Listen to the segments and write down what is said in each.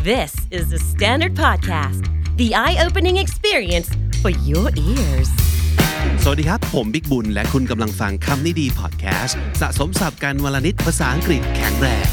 This is the Standard Podcast, the eye-opening experience for your ears. สวัสดีครับผมบิ๊กบุญและคุณกำลังฟังคำนี้ดีพอดแคสต์สะสมศัพท์กันวลนิดภาษาอังกฤษแข็งแรง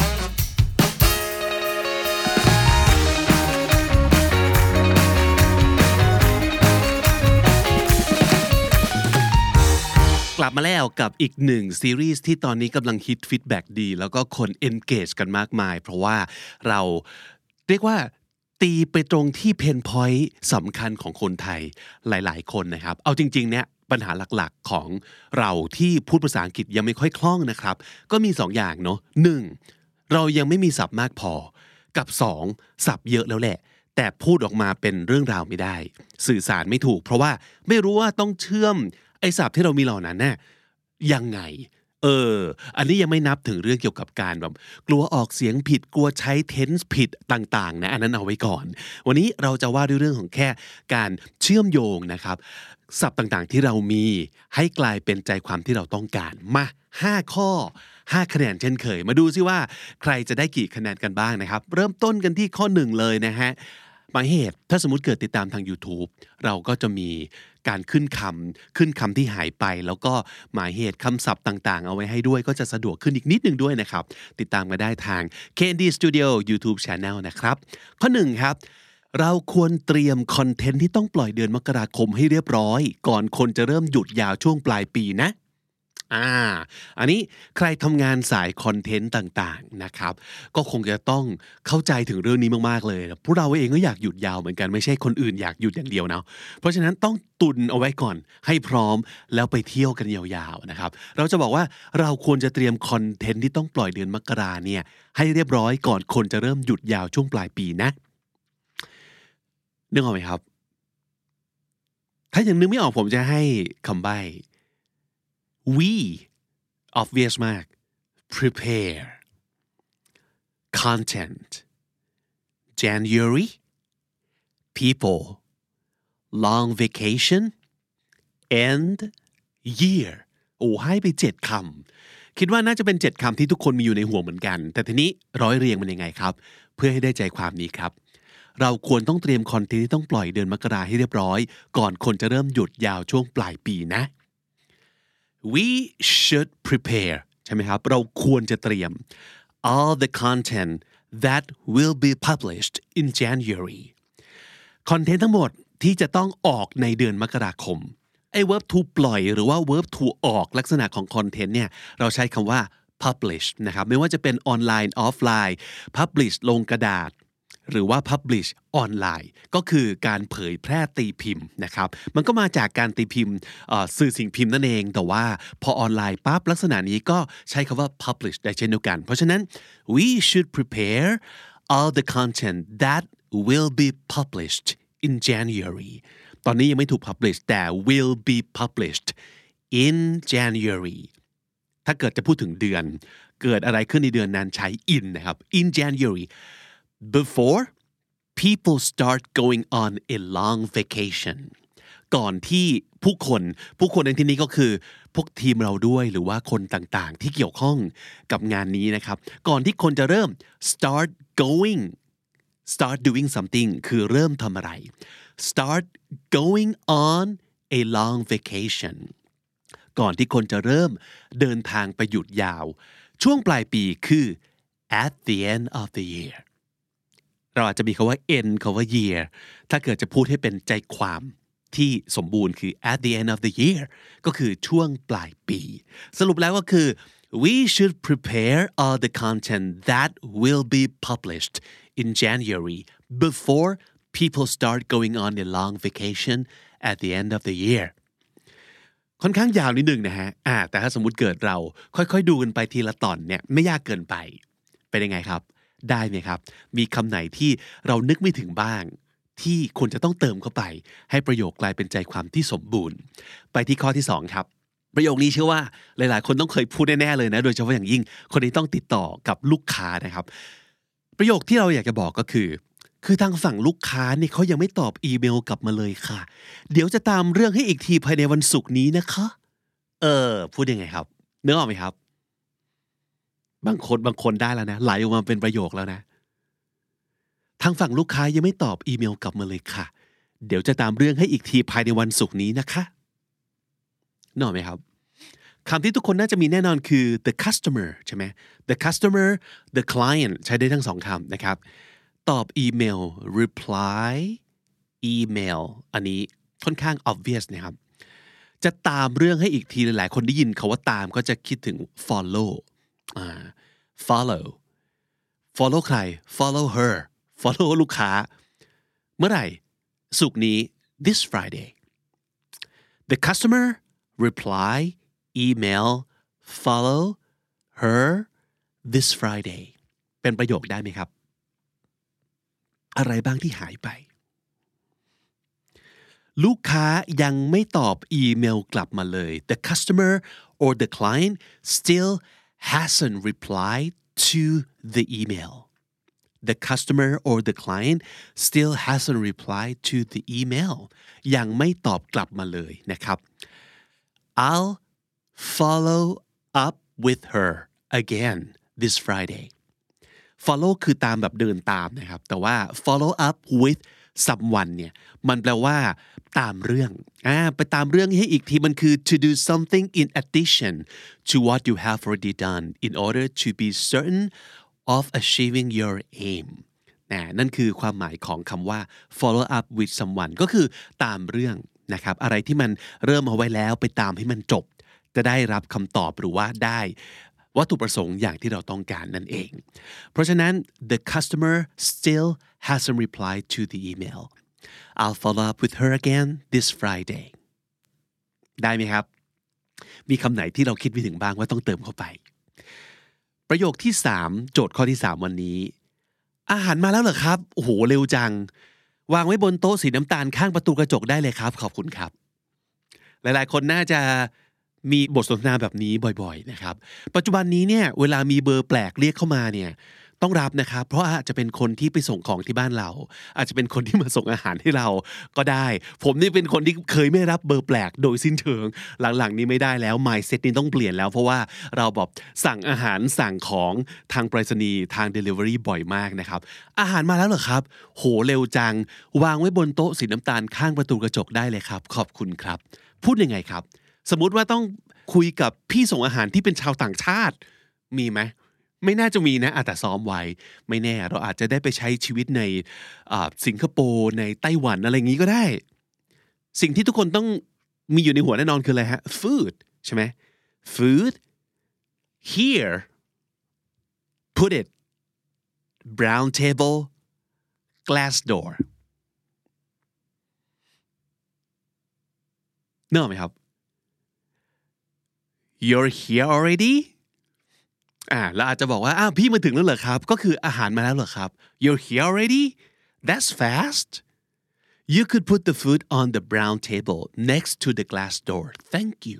กลับมาแล้วกับอีกหนึ่งซีรีส์ที่ตอนนี้กำลังฮิตฟีดแบ็กดีแล้วก็คน engage กันมากมายเพราะว่าเราเรียกว่าตีไปตรงที่เพนพอยต์สำคัญของคนไทยหลายๆคนนะครับเอาจริงๆเนี่ยปัญหาหลักๆของเราที่พูดภาษาอังกฤษยังไม่ค่อยคล่องนะครับก็มี2อย่างเนาะ1เรายังไม่มีศัพท์มากพอกับ2ศัพท์เยอะแล้วแหละแต่พูดออกมาเป็นเรื่องราวไม่ได้สื่อสารไม่ถูกเพราะว่าไม่รู้ว่าต้องเชื่อมไอ้ศัพท์ที่เรามีเหล่านั้นน่ะยังไงอันนี้ยังไม่นับถึงเรื่องเกี่ยวกับการแบบกลัวออกเสียงผิดกลัวใช้ tense ผิดต่างๆนะอันนั้นเอาไว้ก่อนวันนี้เราจะว่าด้วยเรื่องของแค่การเชื่อมโยงนะครับศัพท์ต่างๆที่เรามีให้กลายเป็นใจความที่เราต้องการมา5ข้อ5คะแนนเช่นเคยมาดูซิว่าใครจะได้กี่คะแนนกันบ้างนะครับเริ่มต้นกันที่ข้อ1เลยนะฮะหมายเหตุถ้าสมมุติเกิดติดตามทาง YouTube เราก็จะมีการขึ้นคำที่หายไปแล้วก็หมายเหตุคำศัพท์ต่างๆเอาไว้ให้ด้วยก็จะสะดวกขึ้นอีกนิดนึงด้วยนะครับติดตามกันได้ทาง KND Studio YouTube Channel นะครับข้อ1ครับเราควรเตรียมคอนเทนต์ที่ต้องปล่อยเดือนมกราคมให้เรียบร้อยก่อนคนจะเริ่มหยุดยาวช่วงปลายปีนะอันนี้ใครทำงานสายคอนเทนต์ต่างๆนะครับก็คงจะต้องเข้าใจถึงเรื่องนี้มากๆเลยพวกเราเองก็อยากหยุดยาวเหมือนกันไม่ใช่คนอื่นอยากหยุดอย่างเดียวนะเพราะฉะนั้นต้องตุนเอาไว้ก่อนให้พร้อมแล้วไปเที่ยวกันยาวๆนะครับเราจะบอกว่าเราควรจะเตรียมคอนเทนต์ที่ต้องปล่อยเดือนมกราเนี่ยให้เรียบร้อยก่อนคนจะเริ่มหยุดยาวช่วงปลายปีนะนึกออกไหมครับถ้ายังนึกไม่ออกผมจะให้คำใบ้ we obvious มาก prepare content January people long vacation end year ให้ไป7คำคิดว่าน่าจะเป็น7คำที่ทุกคนมีอยู่ในหัวเหมือนกันแต่ทีนี้ร้อยเรียงมันยังไงครับเพื่อให้ได้ใจความนี้ครับเราควรต้องเตรียมคอนเทนต์ที่ต้องปล่อยเดือนมกราให้เรียบร้อยก่อนคนจะเริ่มหยุดยาวช่วงปลายปีนะ we should prepare ใช่ไหมครับเราควรจะเตรียม all the content that will be published in January คอนเทนต์ทั้งหมดที่จะต้องออกในเดือนมกราคมไอ้ verb to ปล่อยหรือว่า verb to ออกลักษณะของคอนเทนต์เนี่ยเราใช้คำว่า publish นะครับไม่ว่าจะเป็นออนไลน์ออฟไลน์ publish ลงกระดาษหรือว่า publish ออนไลน์ก็คือการเผยแพร่ตีพิมพ์นะครับมันก็มาจากการตีพิมพ์สื่อสิ่งพิมพ์นั่นเองแต่ว่าพอออนไลน์ปั๊บลักษณะนี้ก็ใช้คำว่า publish ได้เช่นเดียวกันเพราะฉะนั้น we should prepare all the content that will be published in January ตอนนี้ยังไม่ถูก publish แต่ will be published in January ถ้าเกิดจะพูดถึงเดือนเกิดอะไรขึ้นในเดือนนั้นใช้ in นะครับ in January before people start going on a long vacation ก่อนที่ผู้คนในที่นี้ก็คือพวกทีมเราด้วยหรือว่าคนต่างๆที่เกี่ยวข้องกับงานนี้นะครับก่อนที่คนจะเริ่ม start doing something คือเริ่มทำอะไร start going on a long vacation ก่อนที่คนจะเริ่มเดินทางไปหยุดยาวช่วงปลายปีคือ at the end of the yearเราอาจจะมีคำว่า end คำว่า year ถ้าเกิดจะพูดให้เป็นใจความที่สมบูรณ์คือ at the end of the year ก็คือช่วงปลายปีสรุปแล้วก็คือ we should prepare all the content that will be published in January before people start going on a long vacation at the end of the year ค่อนข้างยาวนิดนึงนะฮะแต่ถ้าสมมุติเกิดเราค่อยๆดูกันไปทีละตอนเนี่ยไม่ยากเกินไปเป็นยังไงครับได้ไหมครับมีคำไหนที่เรานึกไม่ถึงบ้างที่ควรจะต้องเติมเข้าไปให้ประโยคกลายเป็นใจความที่สมบูรณ์ไปที่ข้อที่2ครับประโยคนี้เชื่อว่าหลายๆคนต้องเคยพูดแน่ๆเลยนะโดยเฉพาะอย่างยิ่งคนที่ต้องติดต่อกับลูกค้านะครับประโยคที่เราอยากจะบอกก็คือทางฝั่งลูกค้าเนี่ยเขายังไม่ตอบอีเมลกลับมาเลยค่ะเดี๋ยวจะตามเรื่องให้อีกทีภายในวันศุกร์นี้นะคะพูดยังไงครับนึกออกไหมครับบางคนได้แล้วนะไหลออกมาเป็นประโยคแล้วนะทางฝั่งลูกค้ายังไม่ตอบอีเมลกลับมาเลยค่ะเดี๋ยวจะตามเรื่องให้อีกทีภายในวันศุกร์นี้นะคะนึกออกไหมครับคำที่ทุกคนน่าจะมีแน่นอนคือ the customer ใช่ไหม the customer the client ใช้ได้ทั้งสองคำนะครับตอบอีเมล reply email อันนี้ค่อนข้าง obvious นะครับจะตามเรื่องให้อีกทีหลายๆคนได้ยินคาว่าตามก็จะคิดถึง follow follow ใคร follow her follow ลูกค้าเมื่อไหร่ศุกร์นี้ this Friday the customer reply email follow her this Friday เป็นประโยคได้ไหมครับอะไรบ้างที่หายไปลูกค้ายังไม่ตอบอีเมลกลับมาเลย the customer or the client still hasn't replied to the email the customer or the client still hasn't replied to the email ยังไม่ตอบกลับมาเลยนะครับ I'll follow up with her again this Friday follow คือตามแบบเดินตามนะครับแต่ว่า follow up with someone เนี่ยมันแปลว่าตามเรื่องไปตามเรื่องให้อีกทีมันคือ to do something in addition to what you have already done in order to be certain of achieving your aim นั่นคือความหมายของคำว่า follow up with someone ก็คือตามเรื่องนะครับอะไรที่มันเริ่มเอาไว้แล้วไปตามให้มันจบจะได้รับคำตอบหรือว่าได้วัตถุประสงค์อย่างที่เราต้องการนั่นเองเพราะฉะนั้น the customer still hasn't replied to the email I'll follow up with her again this Friday ได้ไหมครับมีคำไหนที่เราคิดไม่ถึงบ้างว่าต้องเติมเข้าไปประโยคที่3โจทย์ข้อที่3วันนี้อาหารมาแล้วเหรอครับโอ้โหเร็วจังวางไว้บนโต๊ะสีน้ำตาลข้างประตูกระจกได้เลยครับขอบคุณครับหลายๆคนน่าจะมีบทสนทนาแบบนี้บ่อยๆนะครับปัจจุบันนี้เนี่ยเวลามีเบอร์แปลกเรียกเข้ามาเนี่ยต้องรับนะครับเพราะอาจจะเป็นคนที่ไปส่งของที่บ้านเราอาจจะเป็นคนที่มาส่งอาหารให้เราก็ได้ผมนี่เป็นคนที่เคยไม่รับเบอร์แปลกโดยสิ้นเชิงหลังๆนี้ไม่ได้แล้ว mindset นี้ต้องเปลี่ยนแล้วเพราะว่าเราแบบสั่งอาหารสั่งของทางไปรษณีย์ทาง delivery บ่อยมากนะครับอาหารมาแล้วเหรอครับโหเร็วจังวางไว้บนโต๊ะสีน้ำตาลข้างประตูกระจกได้เลยครับขอบคุณครับพูดยังไงครับสมมุติว่าต้องคุยกับพี่ส่งอาหารที่เป็นชาวต่างชาติมีไหมไม่น่าจะมีนะแต่ซ้อมไว้ไม่แน่เราอาจจะได้ไปใช้ชีวิตในสิงคโปร์ในไต้หวันอะไรอย่างนี้ก็ได้สิ่งที่ทุกคนต้องมีอยู่ในหัวแน่นอนคืออะไรฮะ food ใช่ไหม food here put it brown table glass door นึกออกไหมครับYou're here already แล้วอาจจะบอกว่าพี่มาถึงแล้วเหรอครับก็คืออาหารมาแล้วเหรอครับ You're here already That's fast You could put the food on the brown table next to the glass door Thank you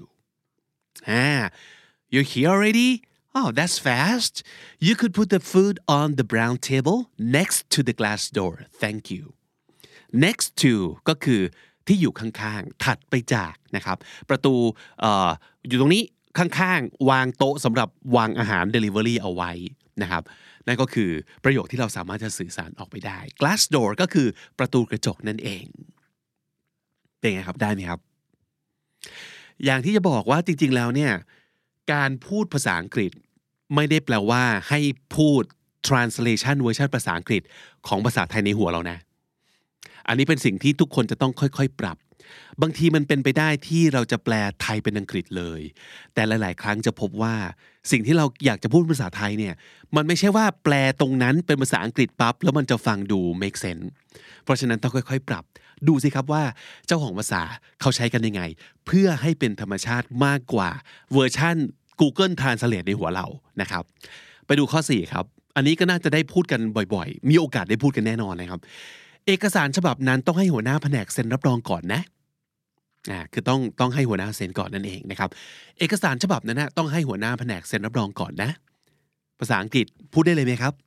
You're here already Oh that's fast You could put the food on the brown table next to the glass door Thank you Next to ก็คือที่อยู่ข้างๆถัดไปจากนะครับประตูอยู่ตรงนี้ข้างๆวางโต๊ะสำหรับวางอาหาร delivery เอาไว้นะครับนั่นก็คือประโยคที่เราสามารถจะสื่อสารออกไปได้ glass door ก็คือประตูกระจกนั่นเองเป็นไงครับได้ไหมครับอย่างที่จะบอกว่าจริงๆแล้วเนี่ยการพูดภาษาอังกฤษไม่ได้แปลว่าให้พูด translation เวอร์ชันภาษาอังกฤษของภาษาไทยในหัวเรานะอันนี้เป็นสิ่งที่ทุกคนจะต้องค่อยๆปรับบางทีมันเป็นไปได้ที่เราจะแปลไทยเป็นอังกฤษเลยแต่หลายๆครั้งจะพบว่าสิ่งที่เราอยากจะพูดภาษาไทยเนี่ยมันไม่ใช่ว่าแปลตรงนั้นเป็นภาษาอังกฤษปั๊บแล้วมันจะฟังดู make sense เพราะฉะนั้นต้องค่อยๆปรับดูสิครับว่าเจ้าของภาษาเขาใช้กันยังไงเพื่อให้เป็นธรรมชาติมากกว่าเวอร์ชั่น Google Translate ในหัวเรานะครับไปดูข้อ4ครับอันนี้ก็น่าจะได้พูดกันบ่อยๆมีโอกาสได้พูดกันแน่นอนนะครับเอกสารฉบับนั้นต้องให้หัวหน้าแผนกเซ็นรับรองก่อนนะคือต้องให้หัวหน้าเซ็นก่อนนั่นเองนะครับเอกสารฉบับนั้นนะต้องให้หัวหน้าแผนกเซ็นรับรองก่อนนะภาษาอังกฤษพูดได้เลยไหมครับ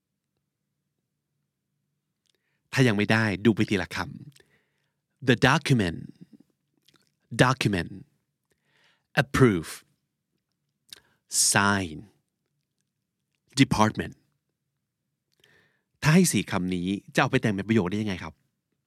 ถ้ายังไม่ได้ดูไปทีละคำ the document approve sign department ถ้าให้4คำนี้จะเอาไปแต่งเป็นประโยคได้ยังไงครับ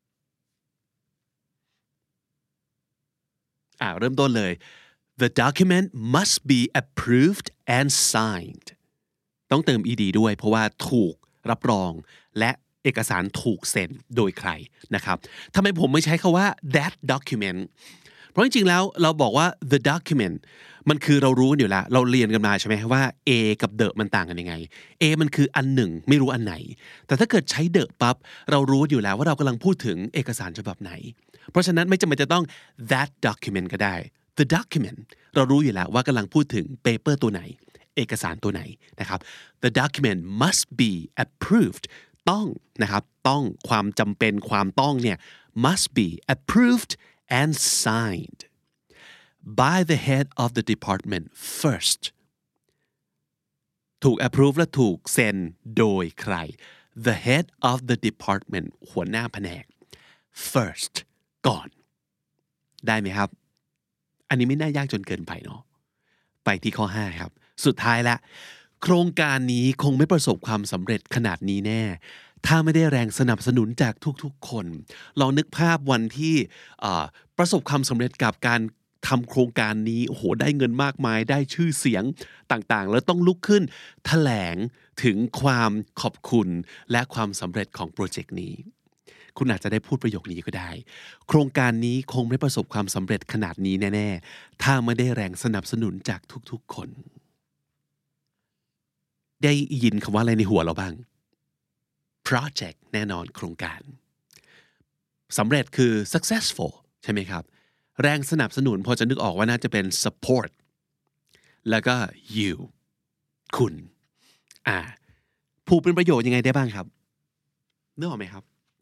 เริ่มต้นเลย The document must be approved and signed ต้องเติม ed ด้วยเพราะว่าถูกรับรองและเอกสารถูกเซ็นโดยใครนะครับทำไมผมไม่ใช้คำว่า that document เพราะจริงๆแล้วเราบอกว่า the document มันคือเรารู้อยู่แล้วเราเรียนกันมาใช่ไหมว่า A กับ the มันต่างกันยังไง A มันคืออันหนึ่งไม่รู้อันไหนแต่ถ้าเกิดใช้ the ปั๊บเรารู้อยู่แล้วว่าเรากำลังพูดถึงเอกสารฉบับไหนเพราะฉะนั้นไม่จำเป็นจะต้อง that document ก็ได้ the document เรารู้อยู่แล้วว่ากำลังพูดถึง paper ตัวไหนเอกสารตัวไหนนะครับ the document must be approved ต้องนะครับต้องความจำเป็นความต้องเนี่ย must be approved and signed by the head of the department first ถูก approve และถูกเซ็นโดยใคร the head of the department หัวหน้าแผนก first ก่อนได้ไหมครับอันนี้ไม่น่ายากจนเกินไปเนาะไปที่ข้อ5ครับสุดท้ายละโครงการนี้คงไม่ประสบความสำเร็จขนาดนี้แน่ถ้าไม่ได้แรงสนับสนุนจากทุกๆคนลองนึกภาพวันที่ประสบความสำเร็จกับการทำโครงการนี้โอ้โหได้เงินมากมายได้ชื่อเสียงต่างๆแล้วต้องลุกขึ้นแถลงถึงความขอบคุณและความสำเร็จของโปรเจกต์นี้คุณอาจจะได้พูดประโยคนี้ก็ได้โครงการนี้คงไม่ประสบความสำเร็จขนาดนี้แน่ๆถ้าไม่ได้แรงสนับสนุนจากทุกๆคนได้ยินคำว่าอะไรในหัวเราบ้าง project แน่นอนโครงการสำเร็จคือ successful ใช่ไหมครับแรงสนับสนุนพอจะนึกออกว่าน่าจะเป็น support แล้วก็ you คุณผูกเป็นประโยชน์ยังไงได้บ้างครับนึกออกไหมครับ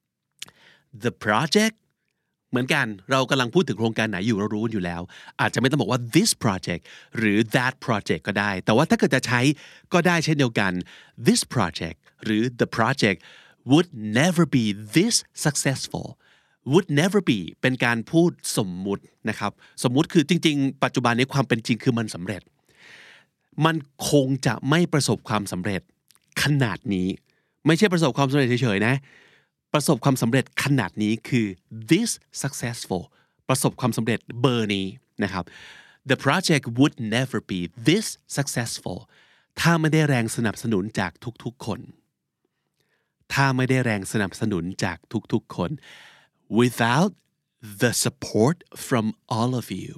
the project เหมือนกันเรากำลังพูดถึงโครงการไหนอยู่เรารู้อยู่แล้วอาจจะไม่ต้องบอกว่า this project หรือ that project ก็ได้แต่ว่าถ้าเกิดจะใช้ก็ได้เช่นเดียวกัน this project หรือ the project would never be this successful would never be เป็นการพูดสมมุตินะครับสมมุติคือจริงๆปัจจุบันนี้ความเป็นจริงคือมันสำเร็จมันคงจะไม่ประสบความสำเร็จขนาดนี้ไม่ใช่ประสบความสำเร็จเฉยๆนะประสบความสำเร็จขนาดนี้คือ this successful ประสบความสำเร็จเบอร์นี้นะครับ the project would never be this successful ถ้าไม่ได้แรงสนับสนุนจากทุกๆคนถ้าไม่ได้แรงสนับสนุนจากทุกๆคนwithout the support from all of you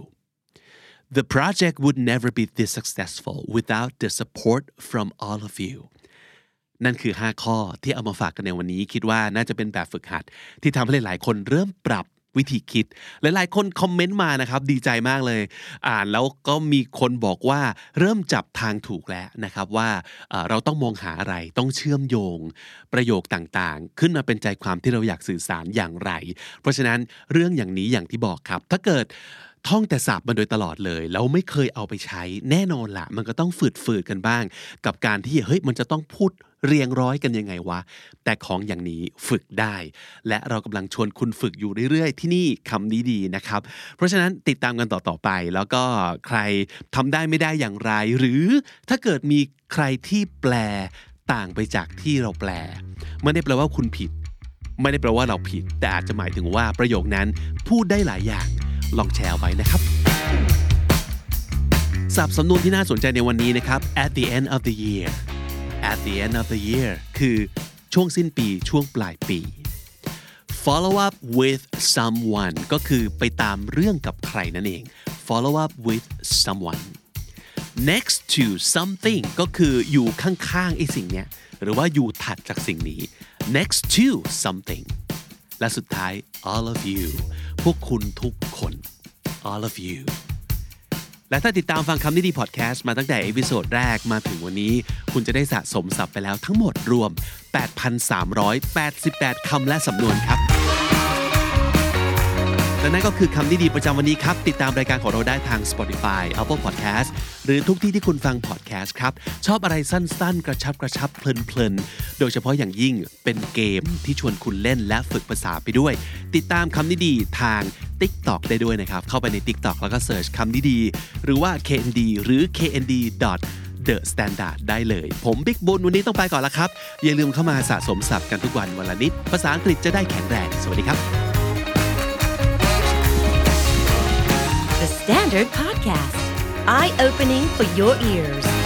the project would never be this successful without the support from all of you นั่นคือ5ข้อที่เอามาฝากกันในวันนี้คิดว่าน่าจะเป็นแบบฝึกหัดที่ทำให้หลายๆคนเริ่มปรับวิธีคิดหลายๆคนคอมเมนต์มานะครับดีใจมากเลยอ่านแล้วก็มีคนบอกว่าเริ่มจับทางถูกแล้วนะครับว่าเราต้องมองหาอะไรต้องเชื่อมโยงประโยคต่างๆขึ้นมาเป็นใจความที่เราอยากสื่อสารอย่างไรเพราะฉะนั้นเรื่องอย่างนี้อย่างที่บอกครับถ้าเกิดท่องแต่ศัพท์มาโดยตลอดเลยแล้วไม่เคยเอาไปใช้แน่นอนละมันก็ต้องฝืดๆกันบ้างกับการที่เฮ้ยมันจะต้องพูดเรียงร้อยกันยังไงวะแต่ของอย่างนี้ฝึกได้และเรากำลังชวนคุณฝึกอยู่เรื่อยๆที่นี่คำนี้ดีนะครับเพราะฉะนั้นติดตามกันต่อๆไปแล้วก็ใครทำได้ไม่ได้อย่างไรหรือถ้าเกิดมีใครที่แปลต่างไปจากที่เราแปลไม่ได้แปลว่าคุณผิดไม่ได้แปลว่าเราผิดแต่อาจจะหมายถึงว่าประโยคนั้นพูดได้หลายอย่างลองแชร์ไว้นะครับศัพท์สำนวนที่น่าสนใจในวันนี้นะครับ at the end of the year at the end of the year คือช่วงสิ้นปีช่วงปลายปี follow up with someone ก็คือไปตามเรื่องกับใครนั่นเอง follow up with someone next to something ก็คืออยู่ข้างๆไอ้สิ่งเนี้ยหรือว่าอยู่ถัดจากสิ่งนี้ next to something และสุดท้าย all of you พวกคุณทุกคน all of you และถ้าติดตามฟังคำนี้ดีพอดแคสต์มาตั้งแต่เอพิโซดแรกมาถึงวันนี้คุณจะได้สะสมศัพท์ไปแล้วทั้งหมดรวม 8,388 คำและสำนวนครับและนั่นก็คือคำนี้ดีประจำวันนี้ครับติดตามรายการของเราได้ทาง Spotify Apple Podcast หรือทุกที่ที่คุณฟัง podcast ครับชอบอะไรสั้นๆกระชับเพลินๆโดยเฉพาะอย่างยิ่งเป็นเกมที่ชวนคุณเล่นและฝึกภาษาไปด้วยติดตามคำนี้ดีทาง TikTok ได้ด้วยนะครับเข้าไปใน TikTok แล้วก็เสิร์ชคำนี้ดีหรือว่า KND หรือ KND The Standard ได้เลยผมบิ๊กบุญวันนี้ต้องไปก่อนละครับอย่าลืมเข้ามาสะสมศัพท์กันทุกวันวันละนิดภาษาอังกฤษจะได้แข็งแรงสวัสดีครับ The Standard Podcast Eye Opening for Your Ears